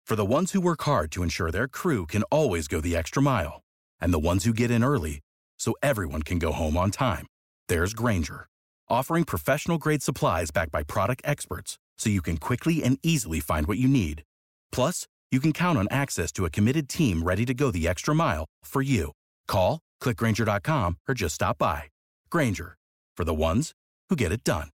For the ones who work hard to ensure their crew can always go the extra mile, and the ones who get in early so everyone can go home on time, there's Grainger, offering professional-grade supplies backed by product experts so you can quickly and easily find what you need. Plus, you can count on access to a committed team ready to go the extra mile for you. Call, click Grainger.com, or just stop by. Grainger, for the ones who get it done.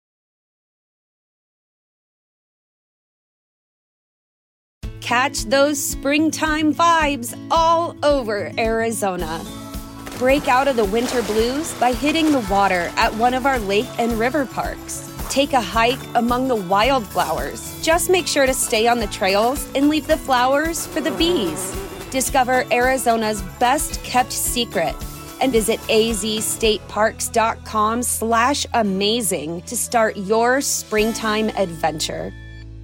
Catch those springtime vibes all over Arizona. Break out of the winter blues by hitting the water at one of our lake and river parks. Take a hike among the wildflowers. Just make sure to stay on the trails and leave the flowers for the bees. Discover Arizona's best-kept secret and visit azstateparks.com/amazing to start your springtime adventure.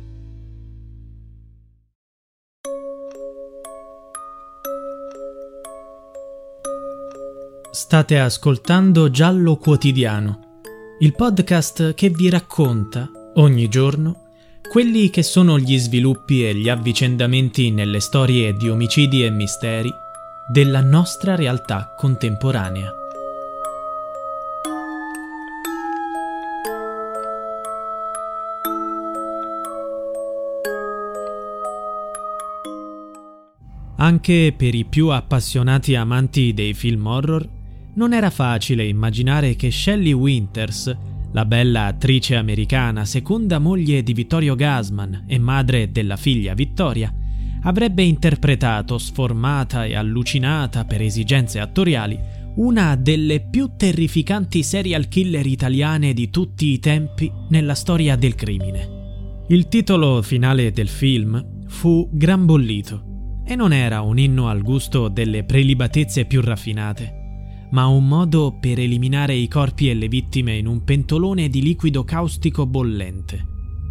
State ascoltando Giallo Quotidiano, il podcast che vi racconta, ogni giorno, quelli che sono gli sviluppi e gli avvicendamenti nelle storie di omicidi e misteri della nostra realtà contemporanea. Anche per i più appassionati amanti dei film horror, non era facile immaginare che Shelley Winters, la bella attrice americana, seconda moglie di Vittorio Gassman e madre della figlia Vittoria, avrebbe interpretato, sformata e allucinata per esigenze attoriali, una delle più terrificanti serial killer italiane di tutti i tempi nella storia del crimine. Il titolo finale del film fu Gran Bollito e non era un inno al gusto delle prelibatezze più raffinate, ma un modo per eliminare i corpi e le vittime in un pentolone di liquido caustico bollente.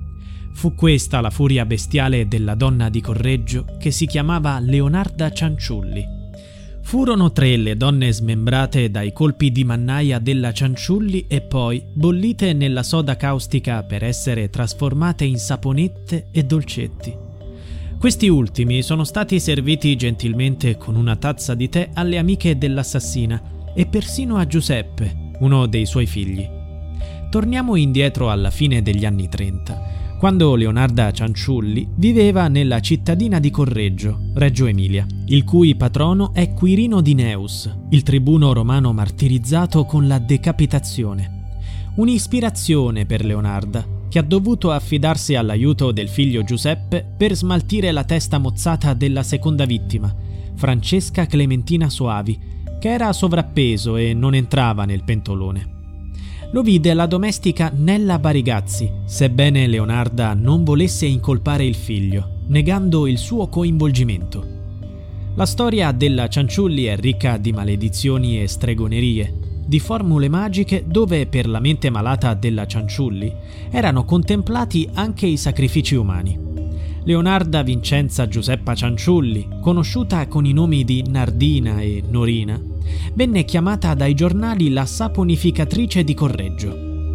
Fu questa la furia bestiale della donna di Correggio che si chiamava Leonarda Cianciulli. Furono 3 le donne smembrate dai colpi di mannaia della Cianciulli e poi bollite nella soda caustica per essere trasformate in saponette e dolcetti. Questi ultimi sono stati serviti gentilmente con una tazza di tè alle amiche dell'assassina e persino a Giuseppe, uno dei suoi figli. Torniamo indietro alla fine degli anni 30, quando Leonarda Cianciulli viveva nella cittadina di Correggio, Reggio Emilia, il cui patrono è Quirino di Neus, il tribuno romano martirizzato con la decapitazione. Un'ispirazione per Leonarda, che ha dovuto affidarsi all'aiuto del figlio Giuseppe per smaltire la testa mozzata della seconda vittima, Francesca Clementina Soavi, che era sovrappeso e non entrava nel pentolone. Lo vide la domestica Nella Barigazzi, sebbene Leonarda non volesse incolpare il figlio, negando il suo coinvolgimento. La storia della Cianciulli è ricca di maledizioni e stregonerie, di formule magiche dove per la mente malata della Cianciulli erano contemplati anche i sacrifici umani. Leonarda Vincenza Giuseppa Cianciulli, conosciuta con i nomi di Nardina e Norina, venne chiamata dai giornali la saponificatrice di Correggio.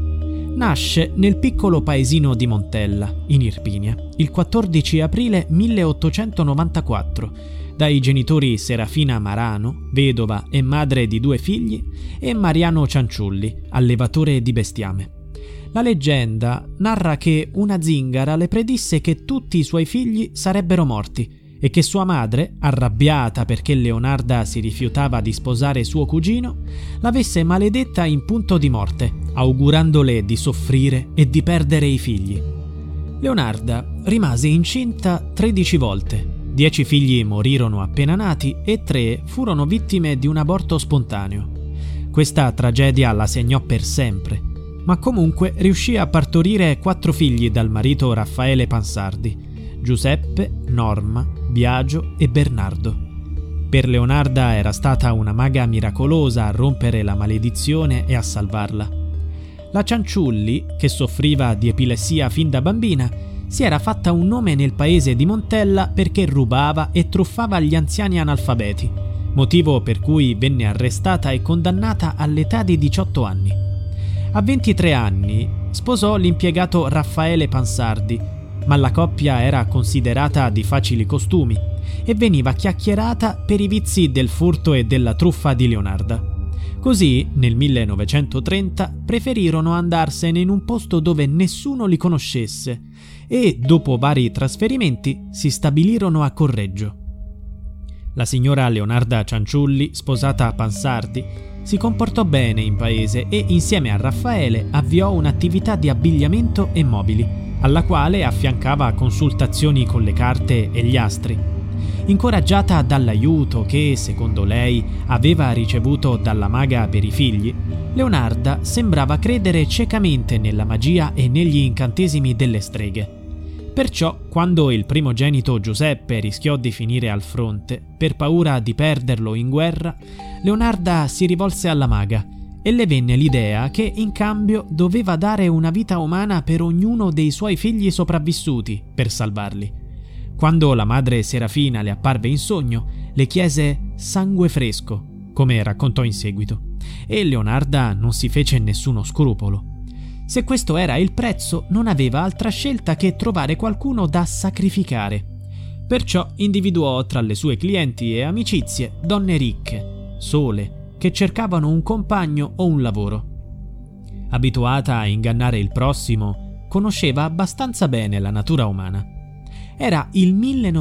Nasce nel piccolo paesino di Montella, in Irpinia, il 14 aprile 1894, dai genitori Serafina Marano, vedova e madre di 2 figli, e Mariano Cianciulli, allevatore di bestiame. La leggenda narra che una zingara le predisse che tutti i suoi figli sarebbero morti e che sua madre, arrabbiata perché Leonarda si rifiutava di sposare suo cugino, l'avesse maledetta in punto di morte, augurandole di soffrire e di perdere i figli. Leonarda rimase incinta 13 volte, 10 figli morirono appena nati e 3 furono vittime di un aborto spontaneo. Questa tragedia la segnò per sempre, ma comunque riuscì a partorire 4 figli dal marito Raffaele Pansardi: Giuseppe, Norma, Biagio e Bernardo. Per Leonarda era stata una maga miracolosa a rompere la maledizione e a salvarla. La Cianciulli, che soffriva di epilessia fin da bambina, si era fatta un nome nel paese di Montella perché rubava e truffava gli anziani analfabeti, motivo per cui venne arrestata e condannata all'età di 18 anni. A 23 anni sposò l'impiegato Raffaele Pansardi, ma la coppia era considerata di facili costumi e veniva chiacchierata per i vizi del furto e della truffa di Leonarda. Così, nel 1930, preferirono andarsene in un posto dove nessuno li conoscesse e, dopo vari trasferimenti, si stabilirono a Correggio. La signora Leonarda Cianciulli, sposata a Pansardi, si comportò bene in paese e, insieme a Raffaele, avviò un'attività di abbigliamento e mobili, alla quale affiancava consultazioni con le carte e gli astri. Incoraggiata dall'aiuto che, secondo lei, aveva ricevuto dalla maga per i figli, Leonarda sembrava credere ciecamente nella magia e negli incantesimi delle streghe. Perciò, quando il primogenito Giuseppe rischiò di finire al fronte, per paura di perderlo in guerra, Leonarda si rivolse alla maga e le venne l'idea che in cambio doveva dare una vita umana per ognuno dei suoi figli sopravvissuti per salvarli. Quando la madre Serafina le apparve in sogno, le chiese sangue fresco, come raccontò in seguito, e Leonarda non si fece nessuno scrupolo. Se questo era il prezzo, non aveva altra scelta che trovare qualcuno da sacrificare. Perciò individuò tra le sue clienti e amicizie donne ricche, sole, che cercavano un compagno o un lavoro. Abituata a ingannare il prossimo, conosceva abbastanza bene la natura umana. Era il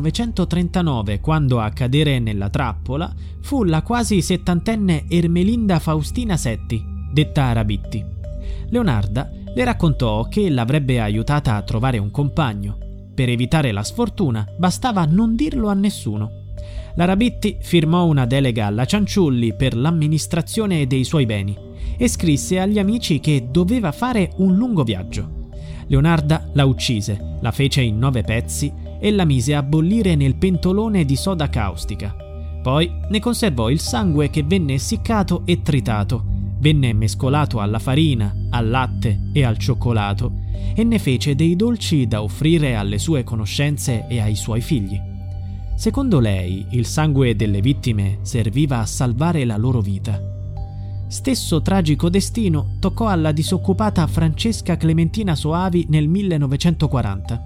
1939 quando a cadere nella trappola fu la quasi settantenne Ermelinda Faustina Setti, detta Rabitti. Leonarda le raccontò che l'avrebbe aiutata a trovare un compagno. Per evitare la sfortuna bastava non dirlo a nessuno. La Rabitti firmò una delega alla Cianciulli per l'amministrazione dei suoi beni e scrisse agli amici che doveva fare un lungo viaggio. Leonarda la uccise, la fece in 9 pezzi e la mise a bollire nel pentolone di soda caustica. Poi ne conservò il sangue che venne essiccato e tritato, venne mescolato alla farina, al latte e al cioccolato e ne fece dei dolci da offrire alle sue conoscenze e ai suoi figli. Secondo lei, il sangue delle vittime serviva a salvare la loro vita. Stesso tragico destino toccò alla disoccupata Francesca Clementina Soavi nel 1940.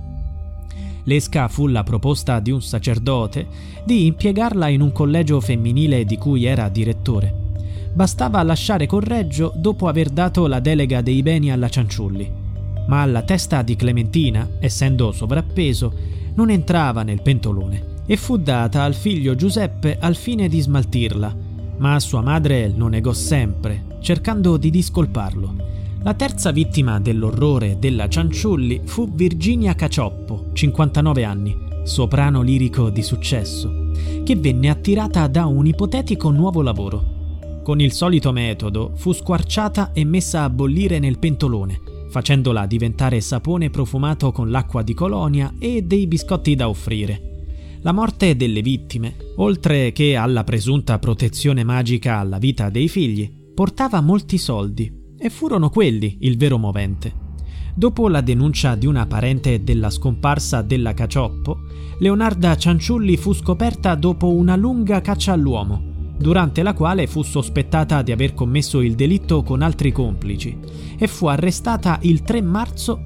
L'esca fu la proposta di un sacerdote di impiegarla in un collegio femminile di cui era direttore. Bastava lasciare Correggio dopo aver dato la delega dei beni alla Cianciulli, ma la testa di Clementina, essendo sovrappeso, non entrava nel pentolone e fu data al figlio Giuseppe al fine di smaltirla, ma sua madre lo negò sempre, cercando di discolparlo. La terza vittima dell'orrore della Cianciulli fu Virginia Cacioppo, 59 anni, soprano lirico di successo, che venne attirata da un ipotetico nuovo lavoro. Con il solito metodo fu squarciata e messa a bollire nel pentolone, facendola diventare sapone profumato con l'acqua di colonia e dei biscotti da offrire. La morte delle vittime, oltre che alla presunta protezione magica alla vita dei figli, portava molti soldi e furono quelli il vero movente. Dopo la denuncia di una parente della scomparsa della Cacioppo, Leonarda Cianciulli fu scoperta dopo una lunga caccia all'uomo, durante la quale fu sospettata di aver commesso il delitto con altri complici e fu arrestata il 3 marzo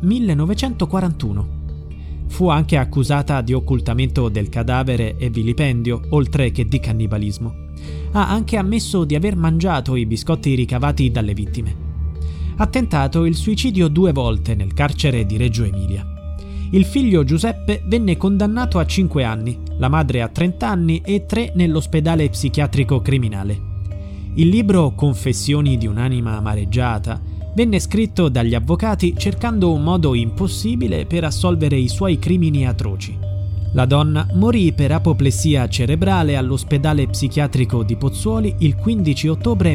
1941. Fu anche accusata di occultamento del cadavere e vilipendio, oltre che di cannibalismo. Ha anche ammesso di aver mangiato i biscotti ricavati dalle vittime. Ha tentato il suicidio 2 volte nel carcere di Reggio Emilia. Il figlio Giuseppe venne condannato a 5 anni, la madre a 30 anni e 3 nell'ospedale psichiatrico criminale. Il libro Confessioni di un'anima amareggiata venne scritto dagli avvocati cercando un modo impossibile per assolvere i suoi crimini atroci. La donna morì per apoplessia cerebrale all'ospedale psichiatrico di Pozzuoli il 15 ottobre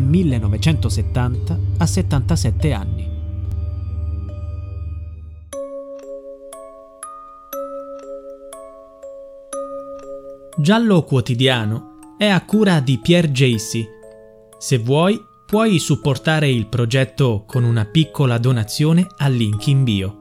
1970 a 77 anni. Giallo Quotidiano è a cura di Pierre Jacy. Se vuoi, puoi supportare il progetto con una piccola donazione al link in bio.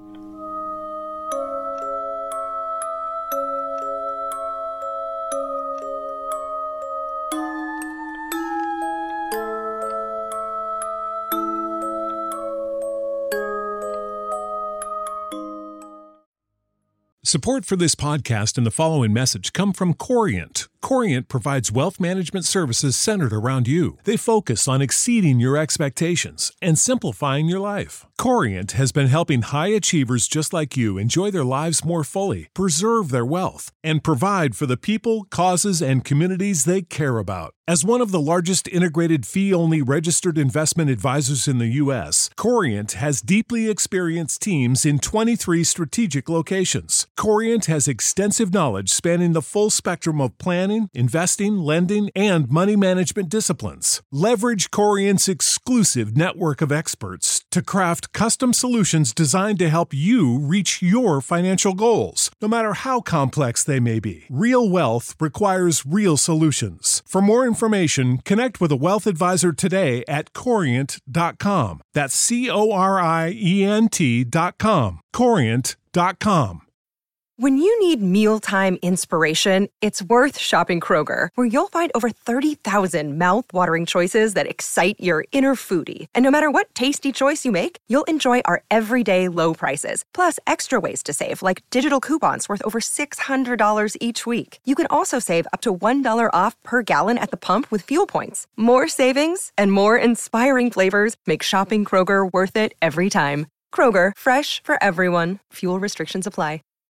Support for this podcast and the following message come from Corient. Corient provides wealth management services centered around you. They focus on exceeding your expectations and simplifying your life. Corient has been helping high achievers just like you enjoy their lives more fully, preserve their wealth, and provide for the people, causes, and communities they care about. As one of the largest integrated fee-only registered investment advisors in the U.S., Corient has deeply experienced teams in 23 strategic locations. Corient has extensive knowledge spanning the full spectrum of planning, investing, lending, and money management disciplines. Leverage Corient's exclusive network of experts to craft custom solutions designed to help you reach your financial goals, no matter how complex they may be. Real wealth requires real solutions. For more information, connect with a wealth advisor today at Corient.com. That's Corient.com. Corient.com. When you need mealtime inspiration, it's worth shopping Kroger, where you'll find over 30,000 mouth-watering choices that excite your inner foodie. And no matter what tasty choice you make, you'll enjoy our everyday low prices, plus extra ways to save, like digital coupons worth over $600 each week. You can also save up to $1 off per gallon at the pump with fuel points. More savings and more inspiring flavors make shopping Kroger worth it every time. Kroger, fresh for everyone. Fuel restrictions apply.